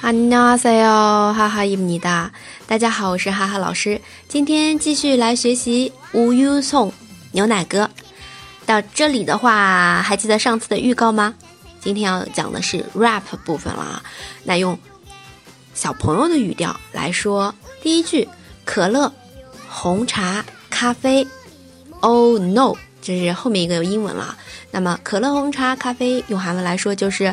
안녕하세요， 哈哈입니다。大家好，我是哈哈老师。今天继续来学习无忧颂牛奶歌。到这里的话，还记得上次的预告吗？今天要讲的是 rap 部分了啊。那用小朋友的语调来说，第一句：可乐、红茶、咖啡。Oh no， 这是后面一个有英文了。那么可乐、红茶、咖啡用韩文来说就是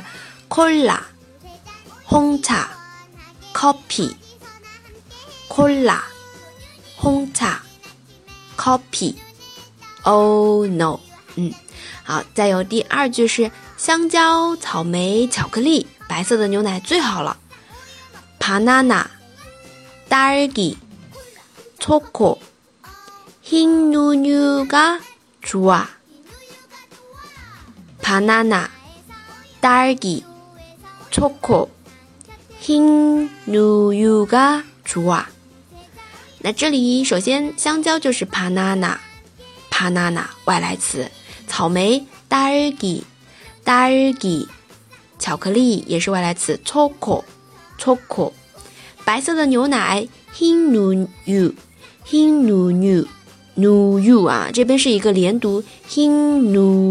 콜라、홍차、커피、콜라、홍차、커피。Oh no， 好，再有第二句是香蕉、草莓、巧克力，白色的牛奶最好了。바나나、딸기、초코、흰 우유가 좋아。바나나、딸기、초코、흰 우유가 좋아。那这里首先香蕉就是 banana 外来词，草莓 딸기 巧克力也是外来词 choco， 白色的牛奶 흰 우유 啊，这边是一个连读 흰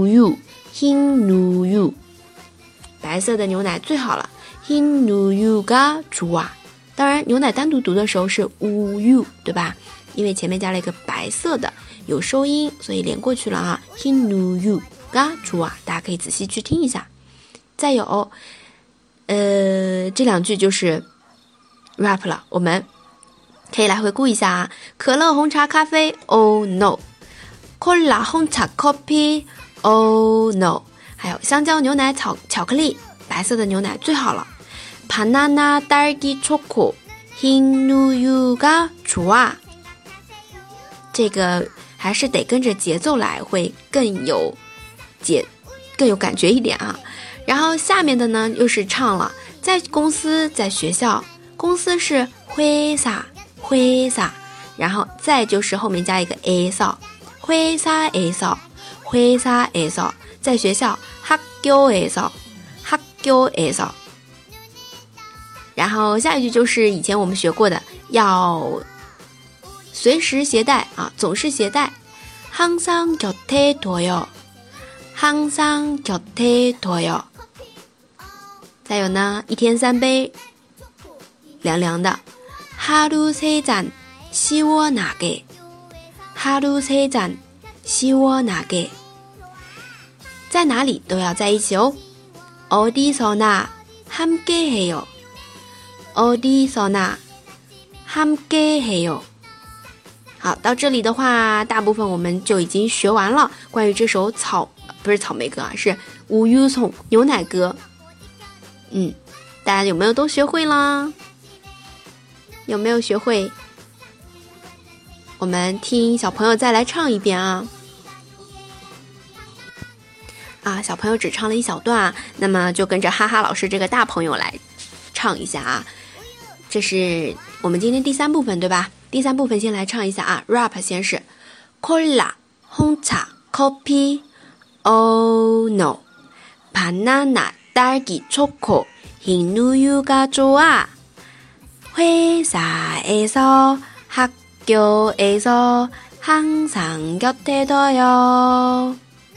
우유， 白色的牛奶最好了 흰 우유가 좋아。 当然牛奶单独读的时候是 우유， 对吧？因为前面加了一个白色的有收音，所以连过去了啊。흰 우유가 좋아， 大家可以仔细去听一下。再有这两句就是 rap 了，我们可以来回顾一下啊。可乐、红茶、咖啡 Oh no， 콜라、红茶、커피 Oh no， 还有香蕉、牛奶、巧克力，白色的牛奶最好了。바나나、딸기、초코、흰 우유가 좋아。 这个还是得跟着节奏来，会更有感觉一点啊。然后下面的呢又是唱了，在公司在学校，公司是회사，然後再就是后面加一个 에서， 회사에서， 在学校학교에서， 然后下一句就是以前我们学过的，要随时携带啊，总是携带。항상 곁에 둬요。 再有呢，一天3杯，凉凉的。하루 3잔 시원하게。 在哪里都要在一起哦。어디서나 함께해요。 好，到这里的话，大部分我们就已经学完了。关于这首不是草莓歌啊，是无忧颂牛奶歌。大家有没有都学会啦？有没有学会？我们听小朋友再来唱一遍啊！小朋友只唱了一小段，那么就跟着哈哈老师这个大朋友来唱一下啊！这是我们今天第3部分，对吧？第3部分先来唱一下啊 ，rap 先是 콜라、红茶、커피 Oh no， 바나나、딸기、초코、흰 우유가 좋아。 회사에서 학교에서 항상 곁에 둬요。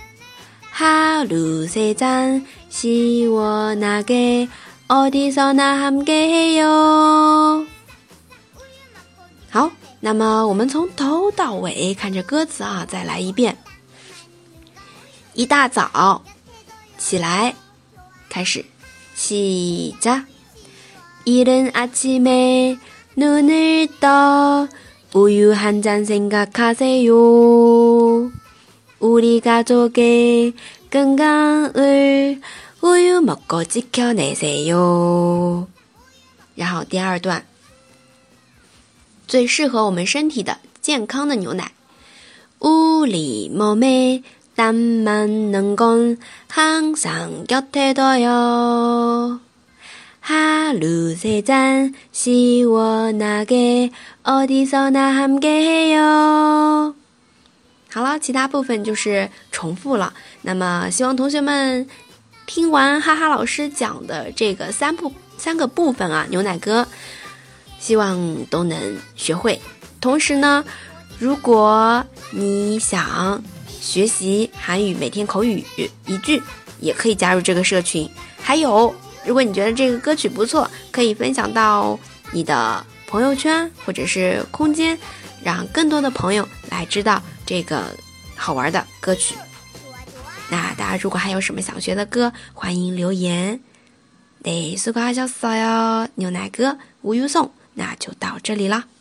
하루 3잔 시원하게 어디서나 함께해요。 好，那么我们从头到尾看着歌词啊，再来一遍。一大早起来，开始시작。 이른 아침에 눈을 떠 우유 한 잔 생각하세요. 우리 가족의 건강을 우유 먹고 지켜내세요。 然后第二段，最适合我们身体的健康的牛奶。우리 몸에 땀 맞는 건 항상 곁에 둬요. 하루 3잔 시원하게 어디서나 함께해요。 好了，其他部分就是重复了。那么希望同学们听完哈哈老师讲的这个 3个部分啊，牛奶哥希望都能学会。同时呢，如果你想学习韩语每天口语1句，也可以加入这个社群。还有，如果你觉得这个歌曲不错，可以分享到你的朋友圈或者是空间，让更多的朋友来知道这个好玩的歌曲。那大家如果还有什么想学的歌，欢迎留言。네, 수고하셨어요.牛奶哥우유송，那就到这里了。